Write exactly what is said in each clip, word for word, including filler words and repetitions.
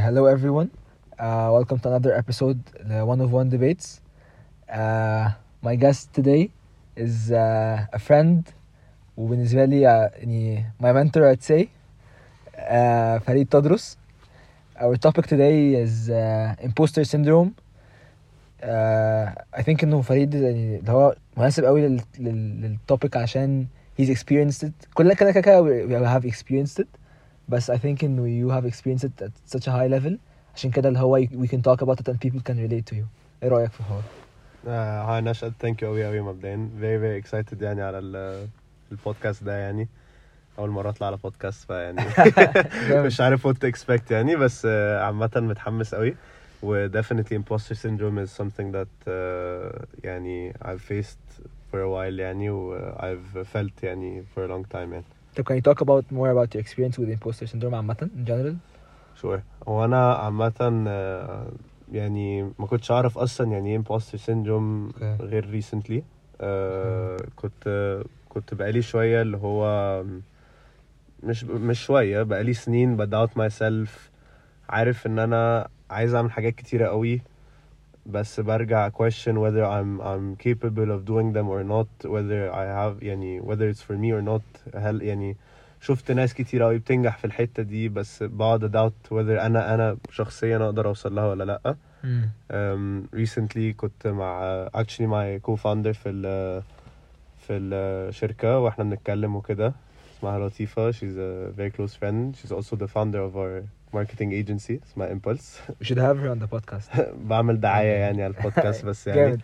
hello everyone. Uh, welcome to another episode, the One of One Debates. Uh, my guest today is uh, a friend وبالنسبة لي uh, يعني my mentor I'd say uh, فريد تدرس. Our topic today is uh, imposter syndrome. uh, I think إنه فريد يعني اللي هو مناسب قوي لل لل للtopic عشان he's experienced it. كلنا كده كده we have experienced it. بس I think إنه you have experienced it at such a high level عشان كده اللي هو we can talk about it and people can relate to you. إيه رأيك في الحوار؟ هاي نشأت thank you أوي أوي مبدئيا very very excited يعني على البودكاست ده يعني أول مرة أطلع على بودكاست فيعني مش عارف what to expect يعني بس عامة متحمس أوي و definitely imposter syndrome is something that uh, يعني I've faced for a while يعني و I've felt يعني for a long time يعني. So can you talk about more about your experience with imposter syndrome عامة in general? Sure. وانا عامة يعني ما كنتش اعرف اصلا يعني ايه imposter syndrome okay. غير recently. uh, كنت كنت بقالي شوية اللي هو مش مش شوية بقالي سنين بدoubt myself عارف ان انا عايز اعمل حاجات كتيرة قوي بس برجع question whether I'm I'm capable of doing them or not, whether I have يعني whether it's for me or not. هل يعني شفت ناس كتير قوي بتنجح في الحتة دي بس بعد doubt whether انا انا شخصيا اقدر اوصل لها ولا لا. mm. um, recently كنت مع actually my co-founder في ال في الشركة واحنا بنتكلم وكده اسمها لطيفة. she's a very close friend. she's also the founder of our marketing agency اسمها Impulse. We should have her on the podcast. بعمل دعاية يعني على البودكاست بس يعني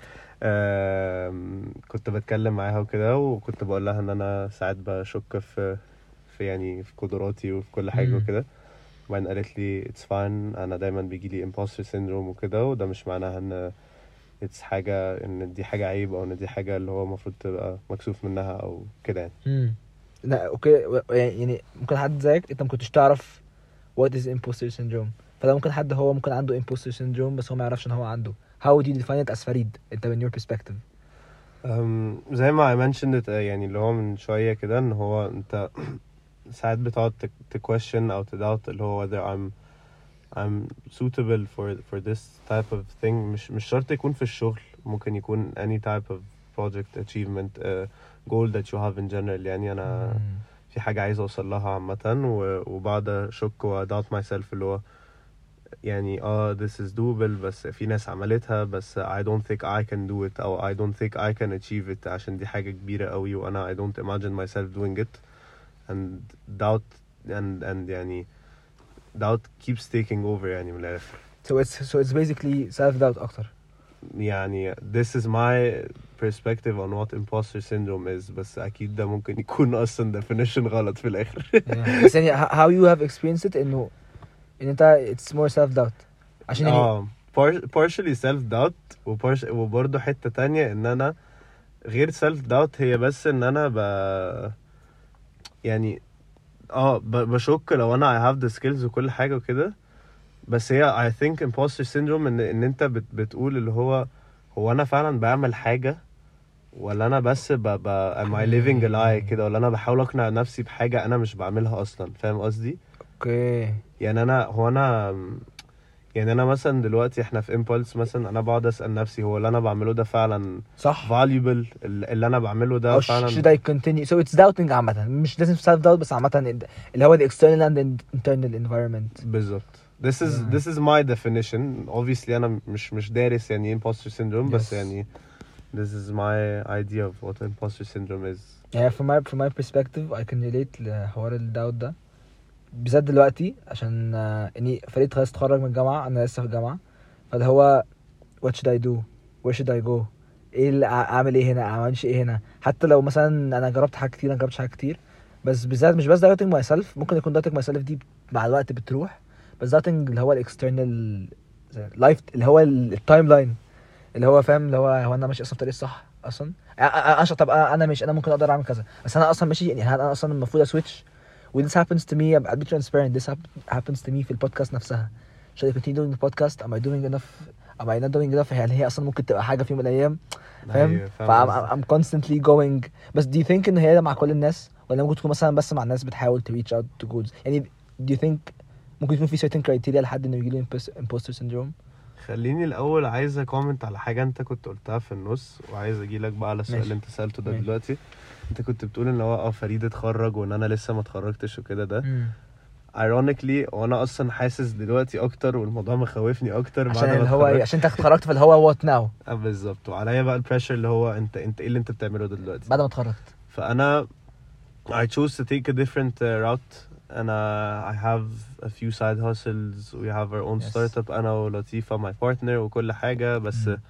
كنت بتكلم معاها وكده وكنت بقول لها ان انا ساعات بشك في في يعني في قدراتي وفي كل حاجة وكده وبعدين قالت لي it's fine انا دايما بيجي لي imposter syndrome وكده وده مش معناها ان it's حاجة ان دي حاجة عيب او ان دي حاجة اللي هو مفروض تبقى مكسوف منها او كده يعني. امم لا اوكي يعني ممكن حد زيك انت ما كنتش تعرف what is imposter syndrome فده ممكن حد هو ممكن عنده imposter syndrome بس هو ما يعرفش ان هو عنده. how would you define it as فريد انت من your perspective؟ um, زي ما I mentioned it, يعني اللي هو من شوية كده ان هو انت ساعات بتقعد to question او to doubt اللي هو whether I'm I'm suitable for for this type of thing. مش مش شرط يكون في الشغل ممكن يكون any type of project achievement uh, goal that you have in general يعني انا mm. في حاجة عايز اوصل لها عامة وبعد اشك و doubt myself اللي هو يعني اه this is doable بس في ناس عملتها بس I don't think I can do it او I don't think I can achieve it عشان دي حاجة كبيرة قوي وانا I don't imagine myself doing it and doubt and and يعني doubt keeps taking over يعني من الآخر. So it's so it's basically self doubt أكتر. يعني this is my perspective on what imposter syndrome is بس أكيد ده ممكن يكون أصلا definition غلط في الآخر. yeah. بس يعني how you have experienced it إنه إن أنت it's more self doubt. عشان يعني. آه partially self doubt وبارش وبرضه حتة تانية إن أنا غير self doubt هي بس إن أنا ب يعني اه بشك لو انا I have the skills وكل حاجة وكده بس هي I think imposter syndrome ان, إن انت بت بتقول اللي هو هو انا فعلا بعمل حاجة ولا انا بس ب ب am I living a lie كده ولا انا بحاول اقنع نفسي بحاجة انا مش بعملها اصلا. فاهم قصدي؟ اوكي okay. يعني انا هو انا يعني انا مثلا دلوقتي احنا في Impulse مثلا انا بقعد اسال نفسي هو اللي انا بعمله ده فعلا صح valuable اللي انا بعمله ده فعلا should I continue so it's doubting عامه مش لازم self doubt بس عامه اللي هو the external and internal environment بالظبط. this is yeah. this is my definition obviously انا مش مش دارس يعني imposter syndrome yes. بس يعني this is my idea of what imposter syndrome is. yeah from my from my perspective I can relate لحوار الداوت ده بالذات دلوقتي عشان اني فريد خلاص اتخرج من الجامعه انا لسه في الجامعه فاللي هو what should I do where should I go ايه اللي اعمل ايه هنا اعملش ايه هنا حتى لو مثلا انا جربت حاجات كتير انا جربت حاجات كتير بس بالذات مش بس doubting myself ممكن يكون doubting myself دي مع الوقت بتروح بس doubting اللي هو الاكسترنال لايف اللي هو التايم لاين اللي هو فاهم اللي هو هو انا ماشي اصلا في الطريق الصح اصلا انا طب انا مش انا ممكن اقدر اعمل كذا بس انا اصلا ماشي يعني انا اصلا المفروض اسويتش و this happens to me I'll be transparent this happens to me في البودكاست نفسها. should I continue doing the podcast am I doing enough am I not doing enough هل هي اصلا ممكن تبقى حاجه في يوم من الايام فاهم ف I'm constantly going بس do you think ان هي مع كل الناس ولا ممكن تكون مثلا بس مع الناس بتحاول to reach out to goals يعني do you think ممكن يكون في certain criteria لحد انه يجيله imposter syndrome. خليني الاول عايز اكومنت على حاجه انت كنت قلتها في النص, وعايز اجي لك بقى على السؤال اللي انت سالته ده ماشي. دلوقتي. انت كنت بتقول ان هو اه فريد اتخرج وان انا لسه ما اتخرجتش وكده. ده مم. ironically وانا اصلا حاسس دلوقتي اكتر, والموضوع مخوفني اكتر بعد عشان ما اللي هو اتخرجت. عشان انت اتخرجت فاللي هو what now اه بالظبط, وعليا بقى البريشر اللي هو انت انت ايه اللي انت بتعمله ده دلوقتي بعد ما اتخرجت. فانا I chose to take a different uh, route. and uh, I have a few side hustles. We have our own Yes. startup, انا ولطيفة my partner وكل حاجة. بس مم.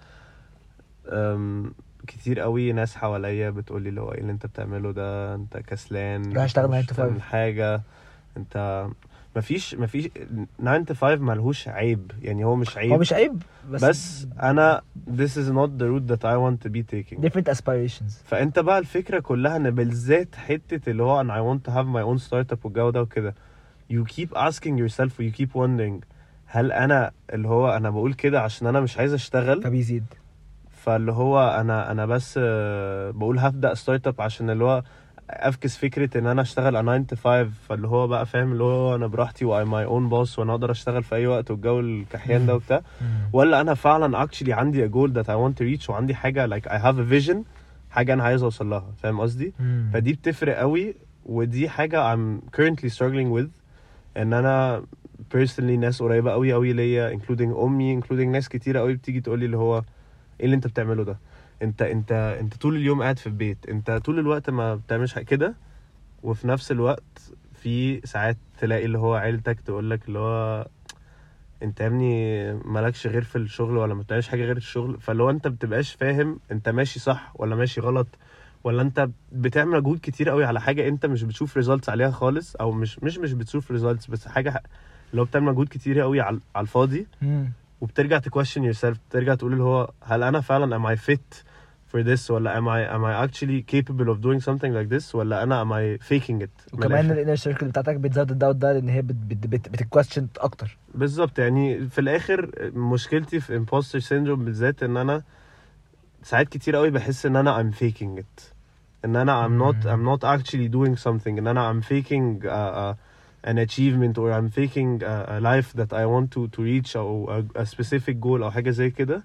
um, كتير قوي ناس حواليا بتقولي اللي هو ايه اللي انت بتعمله ده, انت كسلان, روح اشتغل مش nine to five. بتعمل حاجة, انت مفيش مفيش nine to five ملهوش عيب, يعني هو مش عيب, هو مش عيب بس, بس انا this is not the route that I want to be taking. different aspirations. فانت بقى الفكرة كلها ان بالذات حتة اللي هو انا I want to have my own startup والجو ده وكده, you keep asking yourself و you keep wondering هل انا اللي هو انا بقول كده عشان انا مش عايز اشتغل, فبيزيد. فاللي هو انا انا بس آه، بقول هبدأ ستارت اب عشان اللي هو افكس فكرة ان انا اشتغل على nine to five, فاللي هو بقى فاهم اللي هو انا براحتي و I'm my own boss وانا اقدر اشتغل في اي وقت والجو الكحيان ده وبتاع, ولا انا فعلا actually عندي a goal that I want to reach وعندي حاجة like I have a vision, حاجة انا عايز اوصل لها, فاهم قصدي؟ مم. فدي بتفرق قوي, ودي حاجة I'm currently struggling with. ان انا personally ناس قريبة قوي قوي ليا including امي including ناس كتيرة قوي بتيجي تقولي اللي هو ايه اللي انت بتعمله ده, انت انت انت طول اليوم قاعد في البيت, انت طول الوقت ما بتعملش حاجة كده, وفي نفس الوقت في ساعات تلاقي اللي هو عيلتك تقولك اللي هو انت يا ابني مالكش غير في الشغل ولا ما بتعملش حاجة غير الشغل, فاللي هو انت بتبقاش فاهم انت ماشي صح ولا ماشي غلط, ولا انت بتعمل مجهود كتير قوي على حاجة انت مش بتشوف results عليها خالص, او مش مش مش بتشوف results, بس حاجة اللي هو بتعمل مجهود كتير قوي على على الفاضي, مم. وبترجع ت question yourself, بترجع تقول اللي هو هل انا فعلا am I fit for this, ولا am I am I actually capable of doing something like this, ولا انا am I faking it. وكمان الانر سيركل بتاعتك بتزود الداوت ده, لان هي بت بت بت بتكويستشن اكتر. بالظبط, يعني في الاخر مشكلتي في imposter syndrome بالذات ان انا ساعات كتير قوي بحس ان انا I'm faking it, ان انا I'm not I'm not actually doing something, ان انا I'm faking uh, uh, an achievement, or I'm faking a, a life that I want to to reach, او a, a specific goal او حاجة زي كده.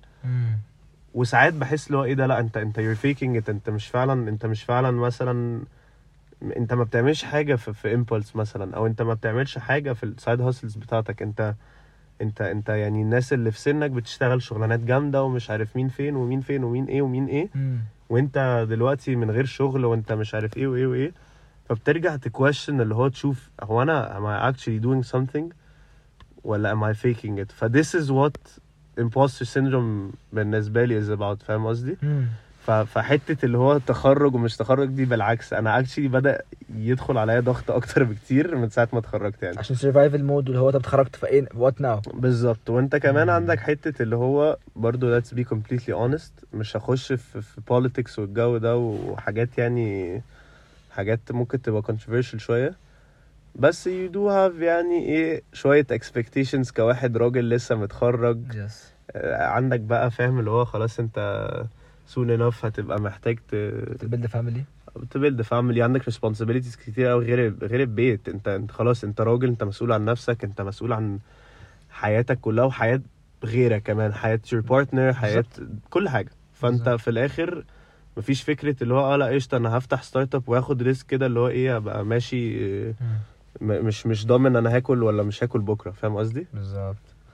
وساعات بحس اللي هو ايه ده, لا انت انت you're faking it, انت مش فعلا انت مش فعلا مثلا انت ما بتعملش حاجة في, في impulse مثلا, او انت ما بتعملش حاجة في السايد هاسلز بتاعتك, انت انت انت يعني الناس اللي في سنك بتشتغل شغلانات جامدة ومش عارف مين فين ومين فين ومين ايه ومين ايه, مم. وانت دلوقتي من غير شغل وانت مش عارف ايه وايه وايه, فبترجع تكويشن اللي هو تشوف هو انا am I actually doing something ولا am I faking it. ف this is what imposter syndrome بالنسبة لي is about, فاهم قصدي؟ مم. ف- فحتة اللي هو تخرج ومش تخرج دي بالعكس, انا actually بدأ يدخل عليا ضغط اكتر بكتير من ساعة ما اتخرجت يعني. عشان survival mode, اللي هو انت اتخرجت في ايه what now. بالظبط, وانت كمان مم. عندك حتة اللي هو برضو let's be completely honest, مش هخش في, في politics والجو ده وحاجات يعني حاجات ممكن تبقى controversial شوية, بس you do have يعني ايه شوية expectations كواحد راجل لسه متخرج. yes. آه، عندك بقى فاهم اللي هو خلاص انت soon enough هتبقى محتاج ت تبيلد فاميلي, تبيلد فاميلي, عندك responsibilities كتير قوي غير غير البيت, انت انت خلاص انت راجل, انت مسؤول عن نفسك, انت مسؤول عن حياتك كلها وحياة غيرك كمان, حياة your partner, حياة كل حاجة. فانت بالظبط. في الاخر مفيش فكرة اللي هو اه لا قشطة انا هفتح ستارت اب واخد ريسك كده اللي هو ايه ابقى ماشي آه، م- مش مش ضامن انا هاكل ولا مش هاكل بكرة, فاهم قصدي؟ بالظبط.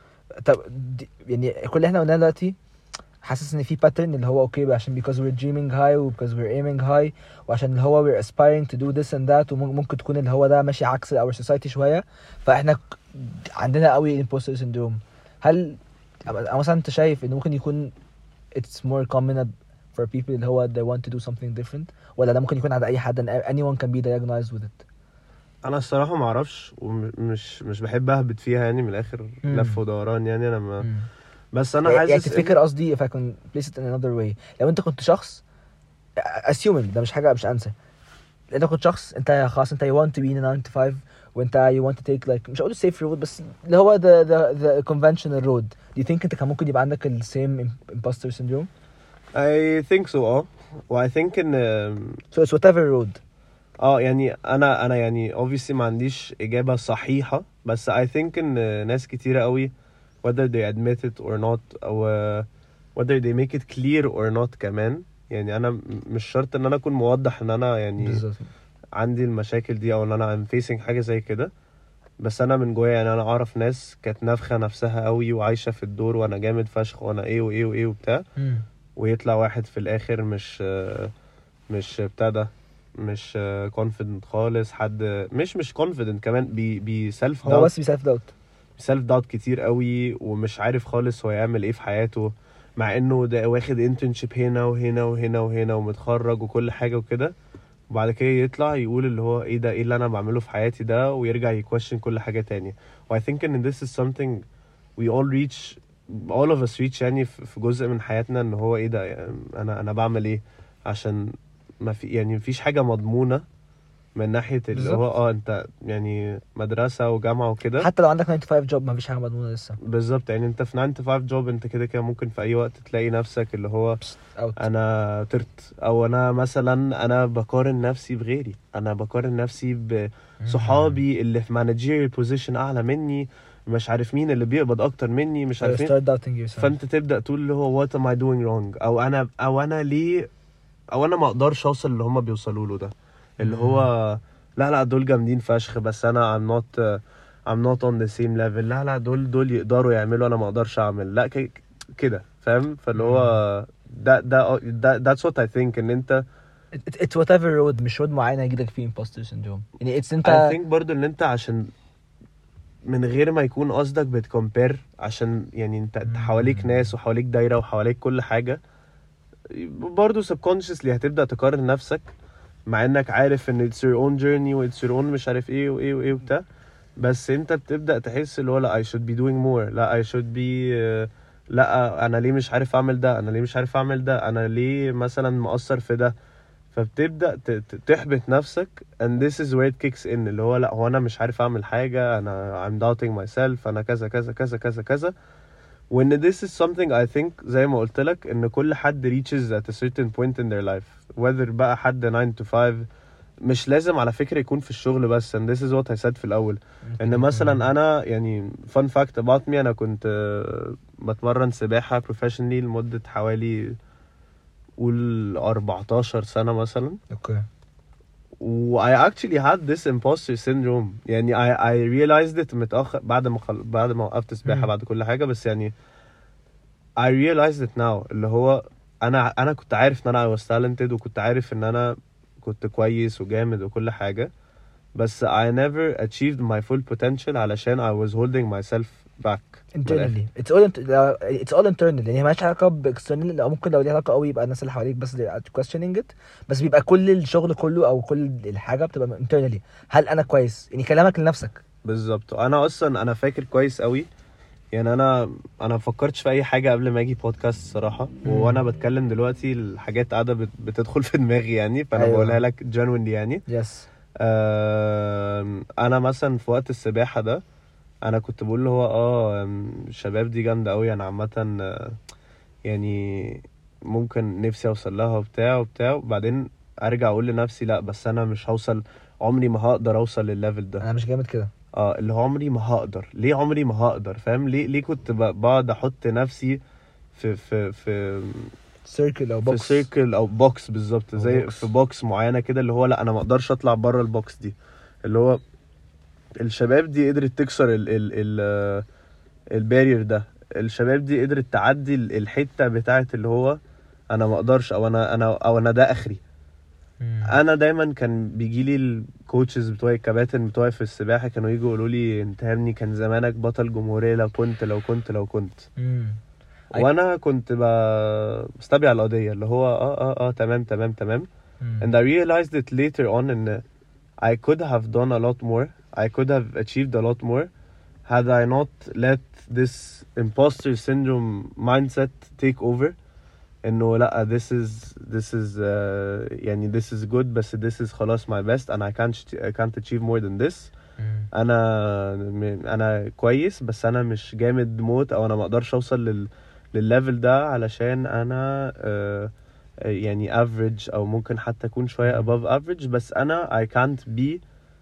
طب دي يعني كل اللي احنا قلناه دلوقتي حاسس ان في pattern اللي هو اوكي بقى عشان because we're dreaming high و because we're aiming high وعشان اللي هو we're aspiring to do this and that, وممكن تكون اللي هو ده ماشي عكس our society شوية, فاحنا ك- عندنا قوي imposter syndrome. هل أو مثلا انت شايف انه ممكن يكون it's more common for people اللي هو they want to do something different, ولا ده ممكن يكون عند اي حد and anyone can be diagnosed with it؟ انا الصراحة ما اعرفش ومش مش بحب اهبط فيها يعني من الاخر مم. لف ودوران يعني انا ما مم. بس انا يعني حاسس تفتكر قصدي if I can place it in another way, لو انت كنت شخص assuming ده مش حاجة مش انسى, انت كنت شخص انت خلاص انت you want to be in a nine to five وانت you want to take like مش هقول safe road بس اللي هو the the the conventional road, do you think انت كان ممكن يبقى عندك ال same imposter syndrome؟ I think so اه و I think ان so it's whatever road. اه يعني انا انا يعني obviously ما عنديش اجابه صحيحه، بس I think ان ناس كتيره قوي whether they admit it or not او whether they make it clear or not كمان. يعني انا م- مش شرط ان انا اكون موضح ان انا يعني بالظبط. عندي المشاكل دي او ان انا I'm facing حاجه زي كده، بس انا من جوايا يعني انا اعرف ناس كانت نافخه نفسها قوي وعايشه في الدور وانا جامد فشخ وانا ايه وايه وايه وبتاع، مم. ويطلع واحد في الاخر مش مش بتاع ده، مش confident خالص، حد مش مش confident كمان، بي بي self هو doubt بس بيسالف دوت. self doubt كتير قوي ومش عارف خالص هو يعمل ايه في حياته، مع انه ده واخد internship هنا وهنا وهنا وهنا ومتخرج وكل حاجة وكده، وبعد كده يطلع يقول اللي هو ايه ده، ايه اللي انا بعمله في حياتي ده، ويرجع يكويشن كل حاجة تانية. و I think ان this is something we all reach all of us reach يعني في في جزء من حياتنا، ان هو ايه ده يعني انا انا بعمل ايه، عشان ما في يعني مفيش حاجة مضمونة من ناحية اللي هو بالظبط. اه انت يعني مدرسة وجامعة وكده. حتى لو عندك ناين تو فايف جوب مفيش حاجه مضمونه لسه. بالظبط، يعني انت في ناين تو فايف جوب انت كده كده ممكن في اي وقت تلاقي نفسك اللي هو اوت. انا طرت، او انا مثلا انا بقارن نفسي بغيري، انا بقارن نفسي بصحابي اللي في managerial position اعلى مني، مش عارف مين اللي بيقبض اكتر مني، مش عارف مين. start doubting yourself. فانت تبدا تقول اللي هو what am I doing wrong، او انا او انا ليه، او انا ما اقدرش اوصل اللي هم بيوصلوا له ده، اللي هو لا لا دول جامدين فشخ بس انا I'm not uh, I'm not on the same level، لا لا دول دول يقدروا يعملوا انا ما اقدرش اعمل، لا ك- كده فاهم. فاللي هو ده ده ده that's what I think ان انت It- it's whatever road، مش road معينه يجيلك فيه imposter syndrome. يعني it's I انت. think برضو ان انت عشان من غير ما يكون قصدك بتكمبير، عشان يعني انت انت حواليك ناس وحواليك دايرة وحواليك كل حاجة، برضو subconsciously هتبدأ تقارن نفسك، مع انك عارف ان it's your own journey و it's your own مش عارف ايه وايه وايه وبتاع، بس انت بتبدأ تحس اللي هو لا I should be doing more، لا I should be uh, لا انا ليه مش عارف اعمل ده، انا ليه مش عارف اعمل ده، انا ليه مثلا مقصر في ده. فبتبدأ ت- ت- تحبط نفسك and this is where it kicks in، اللي هو لا هو انا مش عارف اعمل حاجة، انا I'm doubting myself، انا كذا كذا كذا كذا كذا. وان this is something I think زي ما قلت لك ان كل حد reaches at a certain point in their life whether بقى حد ناين to فايف، مش لازم على فكرة يكون في الشغل بس. and this is what I said في الأول، ان مثلا انا يعني fun fact about me، انا كنت آه، بتمرن سباحة professionally لمدة حوالي قول أربعتاشر سنة مثلا، اوكي. و I actually had this imposter syndrome. يعني I I realized it متأخر بعد ما خل... بعد ما وقفت سباحة مم. بعد كل حاجة، بس يعني I realized it now اللي هو انا انا كنت عارف ان انا I was talented وكنت عارف ان انا كنت كويس وجامد وكل حاجة، بس I never achieved my full potential علشان I was holding myself back من الآخر. internally it's all int- it's all internal. يعني هي مالهاش علاقه باكسترنال، او ممكن لو ليها علاقه قوي يبقى الناس اللي حواليك بس اللي are questioning it، بس بيبقى كل الشغل كله او كل الحاجه بتبقى internally. هل انا كويس؟ يعني كلامك لنفسك. بالظبط. انا اصلا انا فاكر كويس قوي، يعني انا انا ما فكرتش في اي حاجه قبل ما اجي بودكاست الصراحه، وانا بتكلم دلوقتي الحاجات قاعده بت- بتدخل في دماغي يعني، فانا أيوة. بقولها لك genuinely يعني. يس. آم، انا مثلا في وقت السباحه ده انا كنت بقول له هو اه آم، الشباب دي جامده قوي، انا عامه آه، يعني ممكن نفسي اوصل لها وبتاع وبتاع، وبعدين ارجع اقول لنفسي لا بس انا مش هوصل، عمري ما هقدر اوصل للليفل ده. انا مش جامد كده. اه اللي هو عمري ما هقدر، ليه عمري ما هقدر، فاهم ليه ليه كنت ب- بقعد احط نفسي في في في سيركل او في بوكس. سيركل او بوكس بالظبط، أو زي بوكس. في بوكس معينه كده، اللي هو لا انا ما اقدرش اطلع بره البوكس دي. اللي هو الشباب دي قدرت تكسر ال ال ال البارير ده، الشباب دي قدرت تعدي ال- الحته بتاعت اللي هو انا ما اقدرش، او انا انا او انا ده اخري. انا دايما كان بيجي لي الكوتشز بتوعي الكباتن بتوعي في السباحه كانوا يجوا يقولوا لي انت يا ابني كان زمانك بطل جمهوريه لو كنت لو كنت لو كنت امم وانا كنت ب- بستبيع القضيه، اللي هو اه اه اه تمام تمام تمام. and I realized it later on ان I could have done a lot more, I could have achieved a lot more had I not let this imposter syndrome mindset take over. انه لا this is this is uh, يعني this is good بس this is خلاص my best and I can't I can't achieve more than this. انا م- انا كويس بس انا مش جامد موت، او انا ما اقدرش اوصل لل للليفل ده علشان انا uh, آه، يعني average او ممكن حتى اكون شوية above average، بس انا I can't be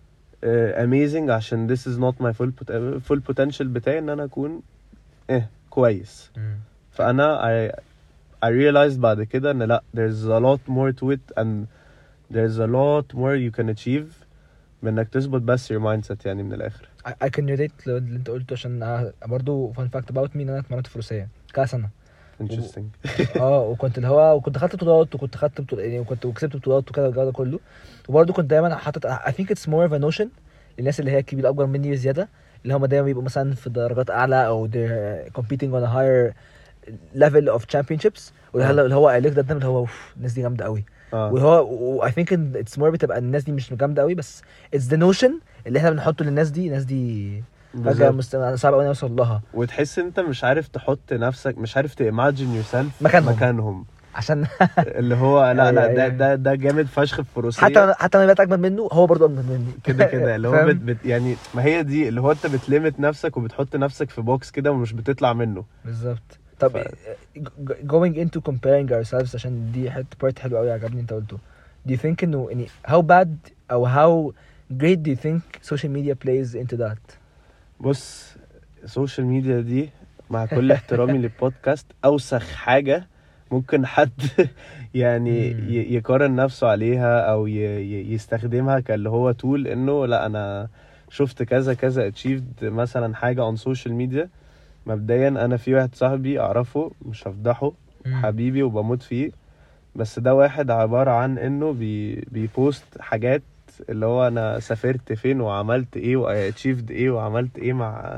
uh, amazing عشان this is not my full pot- full potential بتاعي ان انا اكون اه كويس. مم. فانا I I realized بعد كده ان لا there's a lot more to it and there's a lot more you can achieve من انك تظبط بس your mindset يعني من الاخر. I, I can relate لو اللي انت قلته، عشان آه، برضو fun fact about me ان انا اتمرنت فروسية كذا سنة. interesting. اه وكنت اللي هو وكنت خدت بطولات وكنت خدت بطولات يعني وكنت وكسبت بطولات وكده والجو ده كله. وبرضه كنت دايما حاطط I think it's more of a notion للناس اللي هي الكبيرة اكبر مني بزيادة، اللي هم دايما بيبقوا مثلا في درجات اعلى او they're competing on a higher level of championships، واللي آه. هو- اللي هو قايل ده اللي هو اوف الناس دي جامدة قوي. اه واللي هو و I think in- it's more بتبقى الناس دي مش جامدة قوي، بس it's the notion اللي احنا بنحطه للناس دي. الناس دي حاجة بالظبط. مست... صعب قوي نوصل لها وتحس انت مش عارف تحط نفسك، مش عارف تimagine yourself مكانهم. مكانهم عشان اللي هو لا لا أيوة، ده أيوة. ده ده جامد فشخ في فروسية حتى حتى انا بقيت اجمد منه هو برضه اجمد مني كده كده اللي هو فاهم؟ بت بت يعني ما هي دي اللي هو انت بتليمت نفسك وبتحط نفسك في بوكس كده ومش بتطلع منه. بالظبط. طب ف- ج- going into comparing ourselves، عشان دي حته بارت حلو قوي عجبني انت قلته. do you think انه يعني how bad او how great do you think social media plays into that؟ بص السوشيال ميديا دي مع كل احترامي للبودكاست اوسخ حاجة ممكن حد يعني مم. ي- يقارن نفسه عليها او ي- ي- يستخدمها كاللي هو تول انه لا انا شفت كذا كذا achieved مثلا حاجة on social media. مبدئيا انا في واحد صاحبي اعرفه مش هفضحه مم. حبيبي وبموت فيه، بس ده واحد عبارة عن انه بي بيبوست حاجات اللي هو انا سافرت فين وعملت ايه و achieved ايه وعملت ايه مع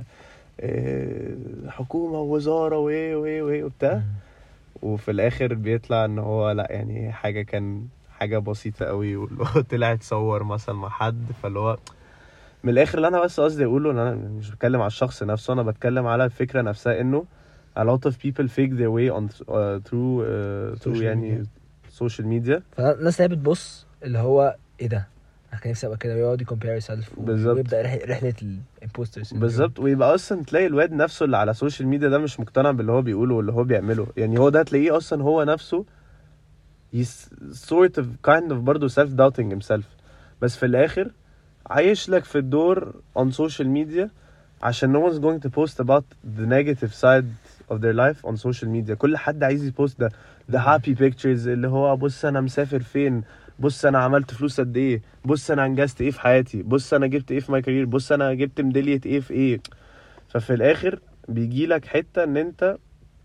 إيه حكومة ووزارة وايه وايه وايه وبتاع، مم. وفي الاخر بيطلع ان هو لا يعني حاجة كان حاجة بسيطة قوي واللي هو طلع يتصور مثلا مع حد. فاللي هو من الاخر اللي انا بس قصدي اقوله ان انا مش بتكلم على الشخص نفسه، انا بتكلم على الفكرة نفسها انه a lot of people fake their way on uh, through uh, through Social يعني social media. فالناس اللي هي بتبص اللي هو ايه ده انا كان نفسي ابقى كده، ويقعد يكمبير سيلف بالظبط. ويبدا رح- رحله الامبوسترز. بالظبط. ويبقى اصلا تلاقي الواد نفسه اللي على السوشيال ميديا ده مش مقتنع باللي هو بيقوله واللي هو بيعمله، يعني هو ده تلاقيه اصلا هو نفسه he's sort of kind of برضه self doubting himself، بس في الاخر عايش لك في الدور on social media عشان no one's going to post about the negative side of their life on social media. كل حد عايز يبوست ده the happy pictures اللي هو بص انا مسافر فين، بص انا عملت فلوس قد ايه، بص انا انجزت ايه في حياتي، بص انا جبت ايه في ماي كارير، بص انا جبت ميدالية ايه في ايه. ففي الاخر بيجي لك حتة ان انت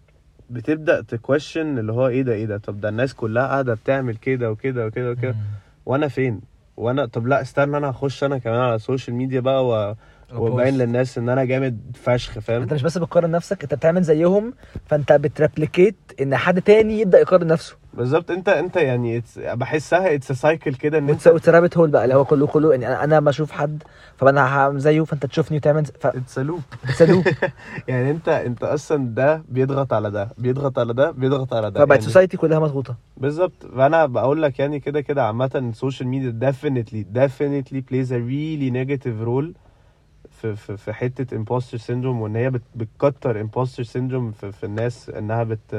بتبدأ تكويشن اللي هو ايه ده ايه ده طب ده الناس كلها قاعدة بتعمل كده وكده وكده وكده وانا فين؟ وانا طب لا استنى انا هخش انا كمان على السوشيال ميديا بقى و... وباين للناس ان انا جامد فشخ فاهم. انت مش بس بتقارن نفسك، انت بتعمل زيهم، فانت بتريبليكيت ان حد تاني يبدا يقارن نفسه. بالظبط. انت انت يعني it's... بحسها اتس سايكل كده ان انت وترابت هول بقى اللي هو كله كله يعني انا انا بشوف حد فانا هعمل زيه فانت تشوفني وتعمل ف... اتس لوب تسلوب. يعني انت انت اصلا ده بيضغط على ده بيضغط على ده بيضغط على ده فبقت يعني سوسايتي كلها مضغوطه. بالظبط. فانا بقول لك يعني كده كده عامه السوشيال ميديا definitely definitely plays a really negative role في في في حته imposter syndrome، وان هي بت بتكتر imposter syndrome في, في الناس انها بت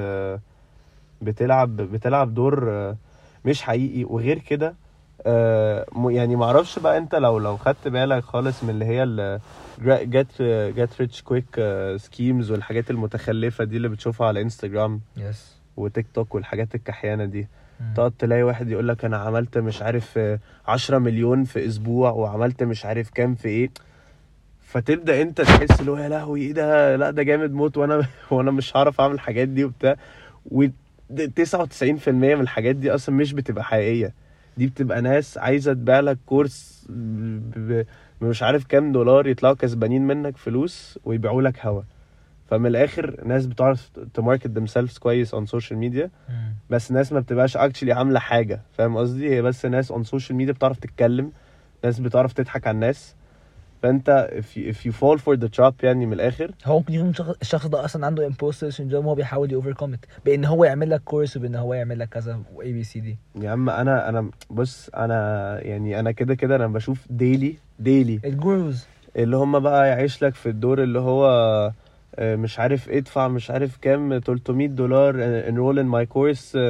بتلعب بتلعب دور مش حقيقي. وغير كده آه، م- يعني معرفش بقى انت لو لو خدت بالك خالص من اللي هي ال get get rich quick سكيمز والحاجات المتخلفة دي اللي بتشوفها على انستجرام يس. وتيك توك والحاجات الكحيانة دي. تقعد تلاقي واحد يقول لك انا عملت مش عارف آه، عشرة مليون في اسبوع وعملت مش عارف كام في ايه، فتبدأ انت تحس اللي هو يا لهوي ايه ده لا ده جامد موت وانا وانا مش هعرف اعمل الحاجات دي وبتاع. و تسعة وتسعين في المية من الحاجات دي اصلا مش بتبقى حقيقية، دي بتبقى ناس عايزة تبيع لك كورس ب- ب- مش عارف كام دولار يطلعوا كسبانين منك فلوس ويبيعوا لك هوا. فمن الاخر ناس بتعرف تماركت themselves كويس on social media، بس ناس ما بتبقاش actually عاملة حاجة فاهم قصدي، هي بس ناس on social media بتعرف تتكلم، ناس بتعرف تضحك على الناس. فانت if you, if you fall for the trap يعني من الاخر هو ممكن يكون شخص- الشخص ده اصلا عنده امبوستر سيندروم وهو بيحاول يوفركم ات بان هو يعمل لك كورس وبان هو يعمل لك كذا واي بي سي دي. يا عم انا انا بص انا يعني انا كده كده انا بشوف ديلي ديلي الجوروز اللي هم بقى يعيش لك في الدور اللي هو آه، مش عارف ادفع مش عارف كام تلتمية دولار enroll in my course آه،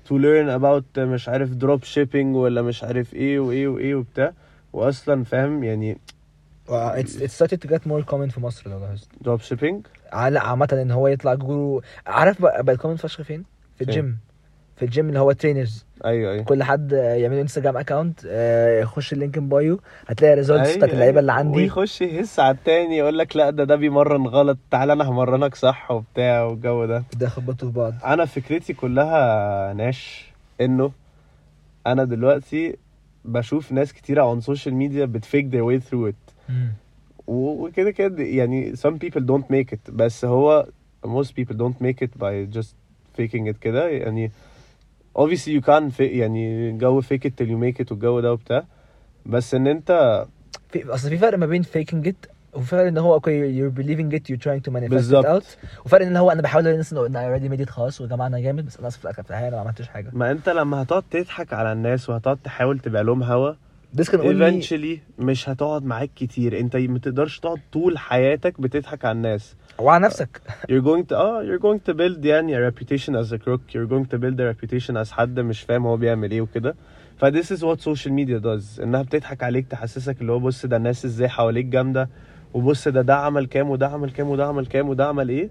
to learn about مش عارف drop shipping ولا مش عارف ايه وايه وايه وبتاع. واصلا فاهم يعني Well, it's it's started to get more common في مصر لو لاحظت. drop shipping لا عامة ان هو يطلع جورو. عارف بقى بقى common فشخ فين؟ في فين؟ الجيم. في الجيم اللي هو ترينرز. ايوه ايوه كل حد يعمل انستجرام اكاونت، يخش اللينك ان بايو هتلاقي الريزولتس بتاعت اللعيبه اللي عندي، ويخش يهس على التاني يقول لك لا ده ده بيمرن غلط، تعال انا همرنك صح وبتاع والجو ده. ده خبطوا في بعض. انا فكرتي كلها ناش انه انا دلوقتي بشوف ناس كتيره on social media بتفيك their way through it. مم. وكده كده يعني some people don't make it، بس هو most people don't make it by just faking it كده يعني. obviously you can fake يعني جو fake it till you make it والجو ده وبتاع، بس ان انت في اصل في فرق ما بين faking it وفي فرق ان هو اوكي you're believing it you're trying to manifest بالزبط. it out، وفرق ان هو انا بحاول الناس انه انا already made it خلاص ويا جماعه انا جامد، بس انا اصلا في الاخر في الحقيقه انا ما عملتش حاجه. ما انت لما هتقعد تضحك على الناس وهتقعد تحاول تبيع لهم هوا this can only eventually مش هتقعد معاك كتير. انت ما تقدرش تقعد طول حياتك بتضحك على الناس وعلى نفسك. you're going to اه you're going to build يعني a reputation as a crook. you're going to build a reputation as حد مش فاهم هو بيعمل ايه وكده. ف this is what social media does، انها بتضحك عليك تحسسك اللي هو بص ده الناس ازاي حواليك جامده، وبص ده ده عمل كام وده عمل كام وده عمل كام وده عمل ايه،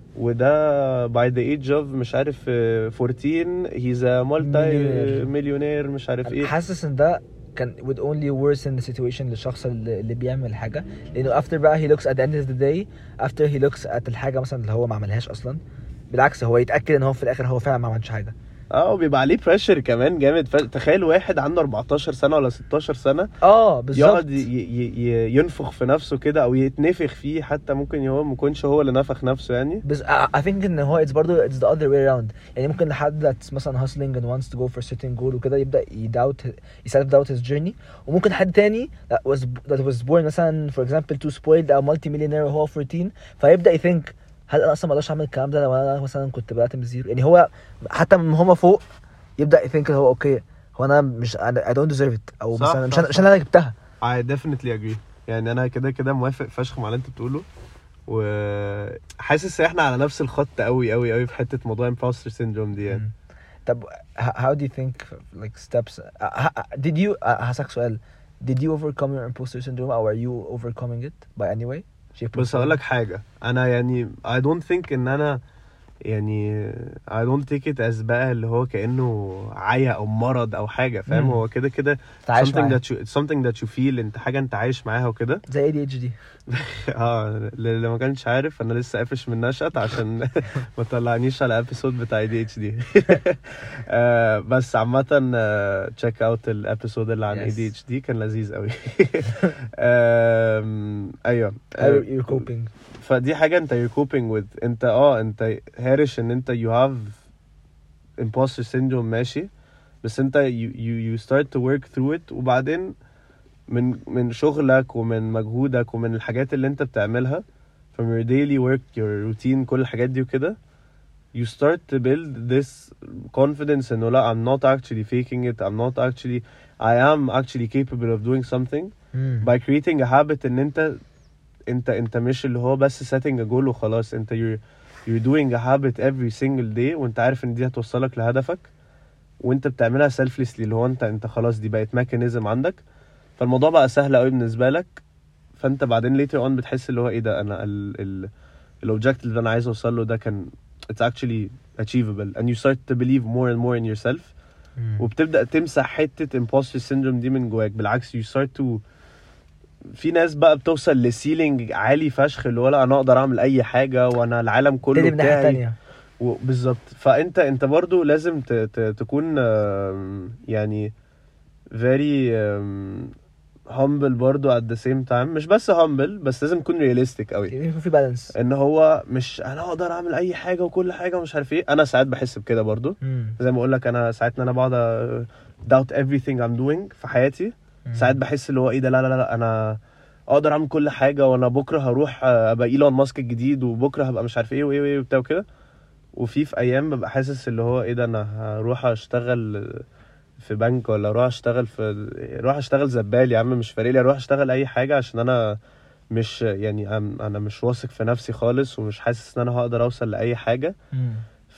وده by the age of مش عارف fourteen he's a multi millionaire مش عارف ايه. حاسس ان ده كان would only worsen the situation للشخص اللي, اللي بيعمل حاجه، لانه after بقى he looks at the end of the day after he looks at الحاجه مثلا اللي هو ما عملهاش اصلا، بالعكس هو يتاكد ان هو في الاخر هو فعلا ما عملش حاجه. اه وبيبقى عليه بريشر كمان جامد. ف... تخيل واحد عنده أربعتاشر سنه ولا ستاشر سنه اه بالظبط يقعد ي... ي... ينفخ في نفسه كده او يتنفخ فيه، حتى ممكن هو ما يكونش هو اللي نفخ نفسه يعني. بس I think ان هو it's برضه it's the other way around. يعني ممكن لحد that's مثلا hustling and wants to go for certain goal وكده يبدا يداوت self doubt his journey، وممكن حد تاني that was that was born مثلا for example too spoiled او multi millionaire وهو fourteen فيبدا يثينك هل انا اصلا ما اقدرش اعمل الكلام ده لو انا مثلا كنت بدات من زيرو. يعني هو حتى من هما فوق يبدا يثينك هو اوكي هو انا مش I don't deserve it او صح مثلا صح مش عشان انا جبتها. I definitely agree. يعني انا كده كده موافق فشخ مع اللي انت بتقوله، وحاسس احنا على نفس الخط قوي قوي قوي في حته موضوع imposter syndrome دي يعني. طب how do you think like steps did you هسألك سؤال did you overcome your imposter syndrome or are you overcoming it by any way? بس هقول لك حاجه، انا يعني I don't think ان انا يعني I don't take it as بقى اللي هو كأنه عيا او مرض او حاجه فاهم. هو كده كده something that you something that you feel، انت حاجه انت عايش معاها وكده زي إيه دي إتش دي. اه اللي ما كانش عارف انا لسه قافش من نشأت عشان ما طلعنيش على الابيسود بتاع إيه دي إتش دي. بس عامه تشيك اوت الابيسود اللي عن إيه دي إتش دي كان لذيذ قوي. ايوه you're coping. فدي حاجه انت you're coping with. انت اه انت هارش ان انت you have imposter syndrome ماشي، بس انت you you you start to work through it، وبعدين من من شغلك ومن مجهودك ومن الحاجات اللي انت بتعملها from your daily work your routine كل الحاجات دي وكده you start to build this confidence انه لا I'm not actually faking it, I'm not actually I am actually capable of doing something mm. by creating a habit ان انت انت انت مش اللي هو بس setting a goal وخلاص. انت you're you're doing a habit every single day وانت عارف ان دي هتوصلك لهدفك، وانت بتعملها selflessly اللي هو انت انت خلاص دي بقت mechanism عندك، فالموضوع بقى سهل قوي بالنسبه لك. فانت بعدين later on بتحس اللي هو ايه ده انا ال ال الاوبجكت اللي انا عايز اوصل له ده كان it's actually achievable and you start to believe more and more in yourself. mm. وبتبدا تمسح حته imposter syndrome دي من جواك. بالعكس you start to في ناس بقى بتوصل لسيلينج عالي فشخ اللي هو لا انا اقدر اعمل اي حاجه وانا العالم كله بتاعي بالظبط. فانت انت برضو لازم ت ت تكون يعني very humble برضو at the same time. مش بس humble بس لازم تكون realistic قوي، يكون في بالانس ان هو مش انا اقدر اعمل اي حاجه وكل حاجه ومش عارف ايه. انا ساعات بحس بكده برضو mm. زي ما اقول لك انا ساعات انا بقعد doubt everything I'm doing في حياتي. ساعات بحس اللي هو ايه ده لا لا لا انا اقدر اعمل كل حاجه وانا بكره هروح ابقى ايلون ماسك الجديد وبكره هبقى مش عارف ايه وايه وايه وبتاع كده. وفي في ايام ببقى حاسس اللي هو ايه ده انا هروح اشتغل في بنك ولا اروح اشتغل في اروح اشتغل زبال يا عم مش فارق لي اروح اشتغل اي حاجه عشان انا مش يعني انا مش واثق في نفسي خالص ومش حاسس ان انا هقدر اوصل لاي حاجه. mm.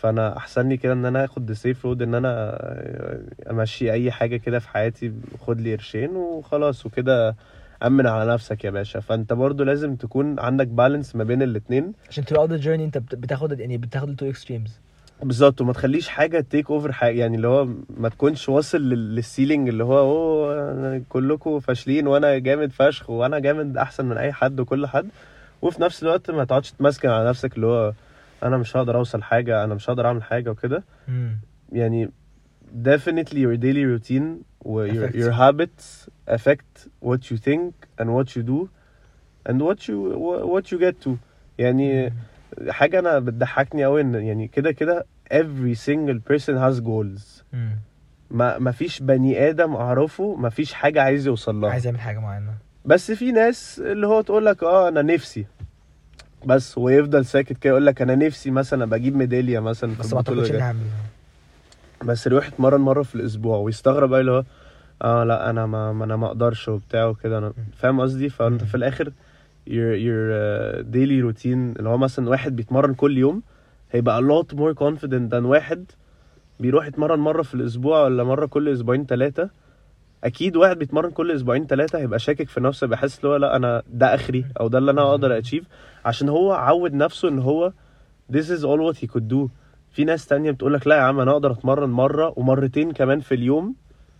فانا احسن لي كده ان انا اخد السيف رود، ان انا امشي اي حاجه كده في حياتي، خد لي قرشين وخلاص وكده، امن على نفسك يا باشا. فانت برضو لازم تكون عندك بالانس ما بين الاتنين عشان throughout the journey انت بت- بتاخد يعني بتاخد ال two extremes. بالظبط، وما تخليش حاجه تيك اوفر حاجه، يعني اللي هو ما تكونش واصل لل- للسيلينج اللي هو اوه أنا كلكم فاشلين وانا جامد فشخ وانا جامد احسن من اي حد وكل حد، وفي نفس الوقت ما تقعدش تمسكن على نفسك اللي هو انا مش هقدر اوصل حاجه، انا مش هقدر اعمل حاجه وكده. امم يعني definitely your daily routine و your, Affects your you. habits affect what you think and what you do and what you what you get to. يعني حاجة أنا بتضحكني أوي إن يعني كده كده every single person has goals. امم ما ما فيش بني آدم أعرفه ما فيش حاجة عايز يوصل لها. عايز يعمل حاجه معينه. بس في ناس اللي هو تقول لك اه أنا نفسي، بس ويفضل ساكت كده يقول لك أنا نفسي مثلا بجيب ميدالية مثلا في بس ما البطولة اعتقدش اني دي. هعمل. بس يروح يتمرن مرة في الأسبوع ويستغرب بقى اللي هو اه لا انا ما, ما انا ما اقدرش وبتاع وكده. انا فاهم قصدي. فانت مم. في الاخر your your uh, daily routine اللي هو مثلا واحد بيتمرن كل يوم هيبقى a lot more confident than واحد بيروح يتمرن مرة في الاسبوع ولا مرة كل اسبوعين ثلاثة. اكيد واحد بيتمرن كل اسبوعين ثلاثة هيبقى شاكك في نفسه، بيحس اللي هو لا انا ده اخري او ده اللي انا اقدر اتشيف، عشان هو عود نفسه ان هو this is all what he could do. في ناس تانية بتقولك لا يا عم انا اقدر اتمرن مرة ومرتين كمان في اليوم،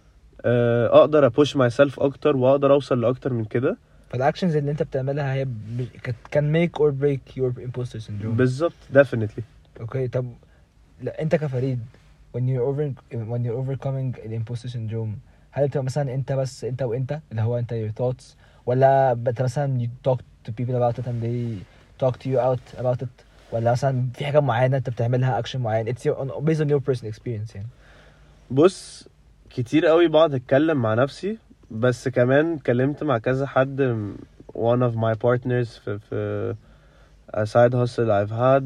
اقدر ابوش ماي سيلف اكتر واقدر اوصل لاكتر من كده. فالاكشنز اللي انت بتعملها هي كان ميك اور بريك يور امبوستر سيندروم. بالظبط definitely. اوكي طب لا انت كفريد when you're over when you're overcoming the imposter syndrome هل بتبقى مثلا انت بس انت وانت اللي هو انت your thoughts، ولا انت مثلا you talk to people about it and they talk to you out about it، ولا مثلا في حاجه معينه انت بتعملها اكشن معين it's your, based on your personal experience يعني؟ بص كتير قوي بقعد اتكلم مع نفسي، بس كمان اتكلمت مع كذا حد. one of my partners في في a side hustle I've had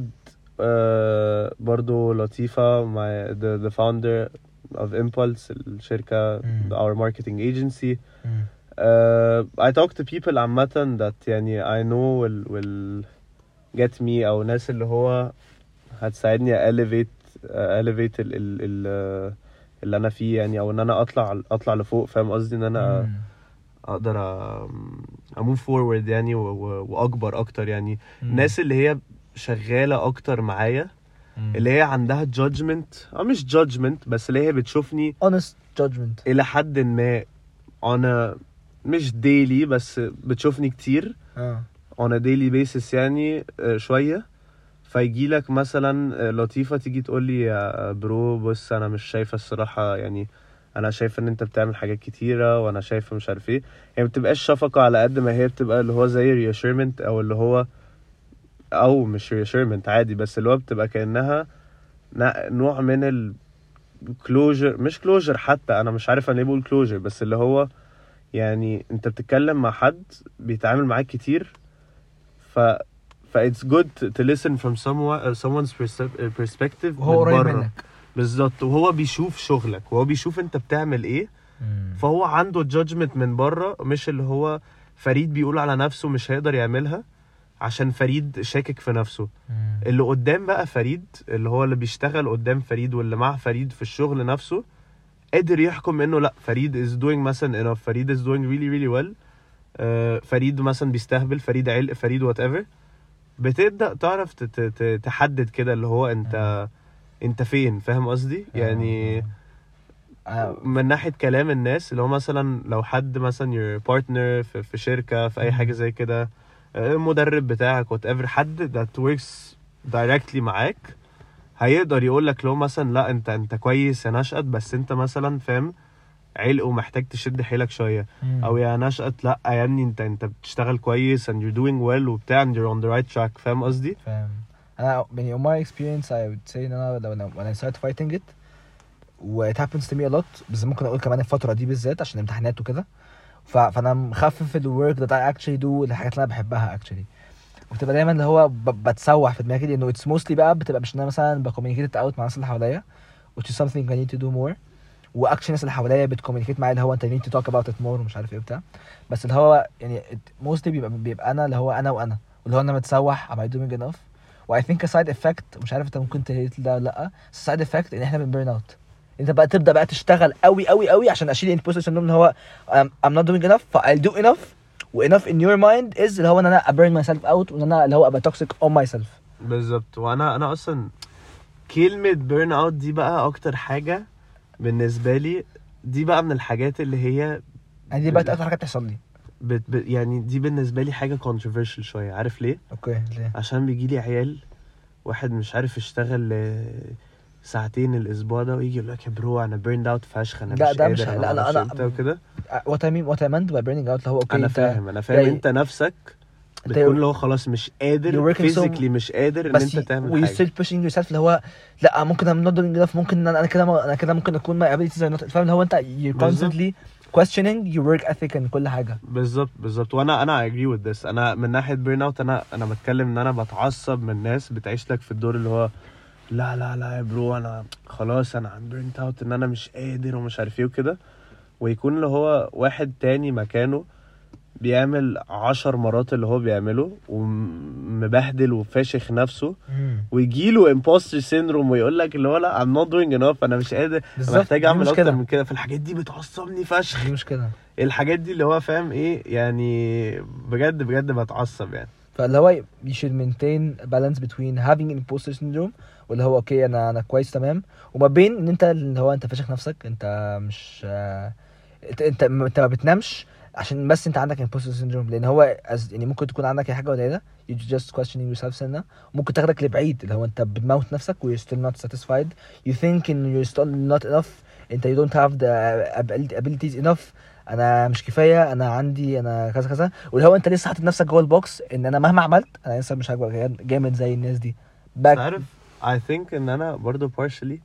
uh, برضو لطيفة my the, the founder of Impulse الشركة mm. our marketing agency. mm. uh, I talk to people عامة that يعني I know will, will get me أو ناس اللي هو هتساعدني elevate uh, elevate ال, ال, ال, uh, اللي انا فيه يعني، او ان انا اطلع اطلع لفوق. فاهم قصدي ان انا mm. اقدر اموف فورورد يعني و- و- واكبر اكتر يعني. mm. الناس اللي هي شغاله اكتر معايا mm. اللي هي عندها judgment او مش judgment بس اللي هي بتشوفني honest judgment الى حد ما انا مش daily بس بتشوفني كتير اه on a daily basis يعني آه، شويه. فيجي لك مثلا لطيفة تيجي تقول لي يا برو بص انا مش شايفة الصراحة يعني، انا شايفة ان انت بتعمل حاجات كتيرة وانا شايفة مش عارف ايه. يعني بتبقاش شفقة على قد ما هي بتبقى اللي هو زي reassurement او اللي هو او مش reassurement عادي، بس اللي هو بتبقى كأنها نوع من ال closure مش closure حتى انا مش عارف انا ليه بقول closure، بس اللي هو يعني انت بتتكلم مع حد بيتعامل معاك كتير ف ف it's good to listen from someone uh, someone's perse- perspective وهو من قريب بره. منك بالظبط، وهو بيشوف شغلك وهو بيشوف انت بتعمل ايه. mm. فهو عنده judgment من بره، مش اللي هو فريد بيقول على نفسه مش هيقدر يعملها عشان فريد شاكك في نفسه. mm. اللي قدام بقى فريد اللي هو اللي بيشتغل قدام فريد واللي مع فريد في الشغل نفسه قادر يحكم انه لا فريد is doing مثلا enough، فريد is doing really really well. uh, فريد مثلا بيستهبل، فريد علق، فريد whatever. بتبدأ تعرف تت- تت- تحدد كده اللي هو انت انت فين. فاهم قصدي يعني. آه. من ناحية كلام الناس اللي هو مثلا لو حد مثلا your partner في, في شركة في اي حاجة زي كده، المدرب بتاعك whatever، حد that works directly معاك هيقدر يقولك لو مثلا لا انت انت كويس يا نشأت بس انت مثلا فاهم علق ومحتاج تشد حيلك شوية. مم. او يا نشأت لا يا ابني انت انت بتشتغل كويس and you're doing well وبتاع and you're on the right track. فاهم قصدي. فاهم. انا يعني on my experience I would say ان انا لو when I started fighting it و it happens to me a lot، بس ممكن اقول كمان الفترة دي بالذات عشان امتحانات وكده، ف... فانا مخفف ال work that I actually do الحاجات اللي انا بحبها actually، وبتبقى دايما اللي هو ب... بتسوح في دماغي لانه it's mostly بقى بتبقى مش ان انا مثلا بكوميونيكيت اوت مع الناس اللي حواليا which is something I need to do more، واكشن الناس اللي حواليا بتكوميونيكيت معايا اللي هو انت need to talk about it more ومش عارف ايه وبتاع، بس اللي هو يعني mostly بيبقى بيبقى انا اللي هو انا وانا واللي هو انا متسوح am I doing enough، و I think a side effect مش عارف انت ممكن تريت ده ولا لا side effect ان احنا بنبرن اوت انت بقى تبدا بقى تشتغل قوي قوي قوي عشان اشيل الامبوستر سيندروم اللي هو I'm, I'm not doing enough ف I'll do enough و enough in your mind is اللي هو ان انا burn myself out وان انا اللي هو ابقى toxic on myself. بالظبط. وانا انا اصلا كلمه بيرن اوت دي بقى اكتر حاجه بالنسبه لي دي بقى من الحاجات اللي هي يعني دي بقت اكتر حاجه بتحصل لي بت ب... يعني دي بالنسبه لي حاجه controversial شويه. عارف ليه؟ اوكي ليه؟ عشان بيجي لي عيال واحد مش عارف يشتغل ساعتين الاسبوع ده ويجي يقول لك يا برو انا بيرند اوت فشخ انا لا مش ده مش قادر لا لا انت وكده. what I mean what I meant by burning out اللي هو اوكي انا انت فاهم انا فاهم يعني انت نفسك انت بتكون اللي هو خلاص مش قادر you're working so- physically مش قادر ان بس انت تعمل و you حاجه. still pushing yourself اللي هو لا ممكن I'm not doing enough ممكن انا أنا كده انا كده ممكن اكون my abilities are not فاهم اللي هو انت you're بالظبط. constantly questioning your work ethic and كل حاجه. بالظبط بالظبط. وانا انا I agree with this. انا من ناحيه بيرن اوت انا انا بتكلم ان انا بتعصب من الناس بتعيش لك في الدور اللي هو لا لا لا يا برو انا خلاص انا عم بيرنت اوت ان انا مش قادر ومش عارف ايه وكده ويكون اللي هو واحد تاني مكانه بيعمل عشر مرات اللي هو بيعمله ومبهدل وفاشخ نفسه ويجيله imposter syndrome ويقول لك اللي هو لا I'm not doing enough انا مش قادر محتاج اعمل اكتر من كده. فالحاجات دي بتعصبني فشخ. دي مشكله الحاجات دي اللي هو فاهم ايه يعني بجد بجد بتعصب يعني. فاللي هو you should maintain a balance between having imposter syndrome واللي هو اوكي انا انا كويس تمام وما بين ان انت اللي هو انت فاشخ نفسك انت مش آه، انت انت انت ما بتنامش عشان بس انت عندك imposter syndrome لان هو as- يعني ممكن تكون عندك اي حاجه قليله you just questioning yourself سنه ممكن تاخدك لبعيد اللي هو انت بتموت نفسك و you're still not satisfied you think in you're still not enough انت you don't have the abilities enough انا مش كفايه انا عندي انا كذا كذا واللي هو انت لسه حاطط نفسك جوه البوكس ان انا مهما عملت انا لسه مش هبقى جامد زي الناس دي. بس عارف I think ان انا برضو partially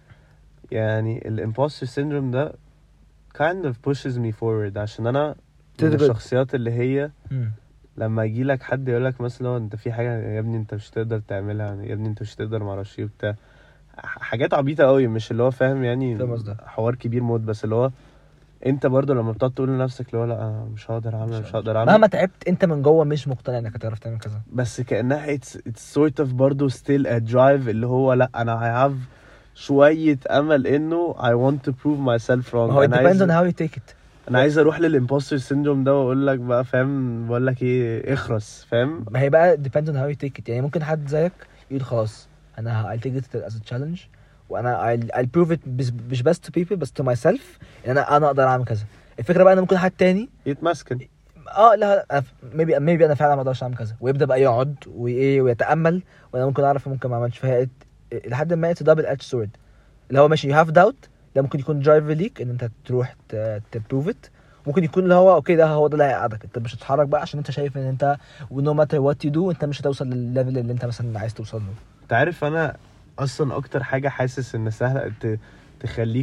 يعني ال imposter syndrome ده kind of pushes me forward عشان انا من الشخصيات اللي هي مم. لما يجي لك حد يقول لك مثلا انت في حاجه يا ابني انت مش تقدر تعملها يا ابني انت مش تقدر ما اعرفش ايه بتاع حاجات عبيطه قوي مش اللي هو فاهم يعني فاهم قصدك. حوار كبير موت بس اللي هو انت برضو لما بتقعد تقول لنفسك اللي هو لا انا مش هقدر اعمل مش هقدر اعمل مهما تعبت انت من جوه مش مقتنع انك هتعرف تعمل كذا بس كأنها it's, it's sort of برضو still a drive اللي هو لا أنا I have شوية أمل إنه I want to prove myself wrong. ما هو it أنا depends عايز on how you take it أنا عايز أروح للإمبوستر سيندروم ده وأقول لك بقى فاهم بقول لك إيه اخرس فاهم. ما هي بقى depends on how you take it يعني ممكن حد زيك يقول خلاص أنا I'll take it as a challenge وأنا I'll, I'll prove it بس- مش بس to people بس to myself إن أنا أنا أقدر أعمل كذا. الفكرة بقى إن ممكن حد تاني يتمسكن اه لا أنا ف- maybe maybe انا فعلا ما اقدرش اعمل كذا ويبدا بقى يقعد وايه ويتامل وانا ممكن اعرف ممكن ما اعملش فيها لحد ما it's a double edged sword اللي هو ماشي you have doubt ده ممكن يكون driver ليك ان انت تروح تبروف ات ممكن يكون اللي هو اوكي ده هو ده اللي هيقعدك انت مش هتتحرك بقى عشان انت شايف ان انت no matter what you do انت مش هتوصل للليفل اللي انت مثلا عايز توصل له. أنت عارف أنا أصلا أكتر حاجة حاسس إن سهلة ت- تخليك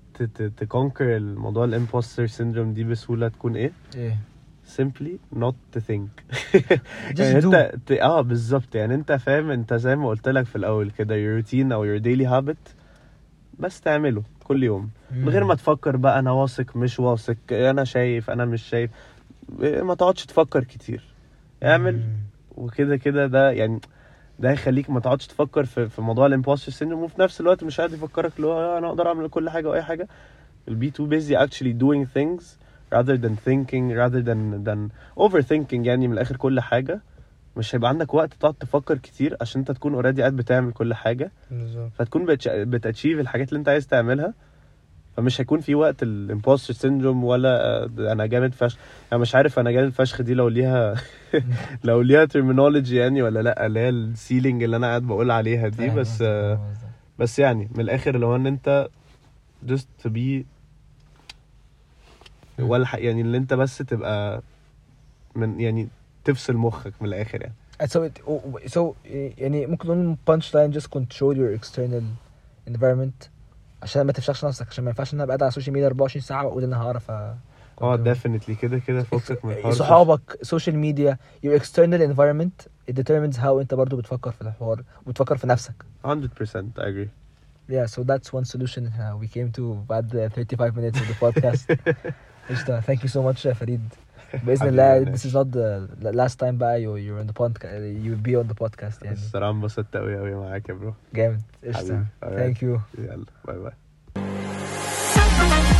تكونكر الموضوع الامبوستر سيندروم دي بسهولة تكون إيه؟ ايه simply not to think. just يعني do انت ت... اه بالظبط يعني انت فاهم انت زي ما قلت لك في الاول كده your routine او your daily habit بس تعمله كل يوم من غير ما تفكر بقى انا واثق مش واثق انا شايف انا مش شايف ما تقعدش تفكر كتير اعمل مم. وكده كده ده يعني ده هيخليك ما تقعدش تفكر في في موضوع الامبوستر سيندروم وفي نفس الوقت مش قاعد يفكرك اللي هو انا اقدر اعمل كل حاجه واي حاجه. you'll be too busy actually doing things rather than thinking rather than than overthinking يعني من الاخر كل حاجه مش هيبقى عندك وقت تقعد تفكر كتير عشان انت تكون اوريدي قاعد بتعمل كل حاجه بالظبط فتكون بتاتشيف الحاجات اللي انت عايز تعملها فمش هيكون في وقت الامبوستر سيندروم ولا انا جامد فشخ. انا مش عارف انا جامد فشخ دي لو ليها لو ليها terminology يعني ولا لا اللي هي السيلينج اللي انا قاعد بقول عليها دي بس بس يعني من الاخر لو ان انت just to be ولا ح- يعني اللي انت بس تبقى من يعني تفصل مخك من الاخر يعني. so it, so يعني ممكن نقول punch line just control your external environment عشان ما تفشخش نفسك عشان ما ينفعش ان انا ابقى قاعد على السوشيال ميديا أربعة وعشرين ساعه واقول ان انا هعرف اه definitely كده كده فكك من الحوار. صحابك social media your external environment it determines how انت برضو بتفكر في الحوار وبتفكر في نفسك. one hundred percent I agree. Yeah, so that's one solution uh, we came to بعد thirty-five minutes of the podcast. قشطة. Thank you so much uh, فريد. باذن الله this is not the last time بقى you you're on the podcast you will be on the podcast يعني. الصراحة انبسطت قوي قوي معاك يا برو. جامد قشطة. حبيبي. thank you. يلا باي باي.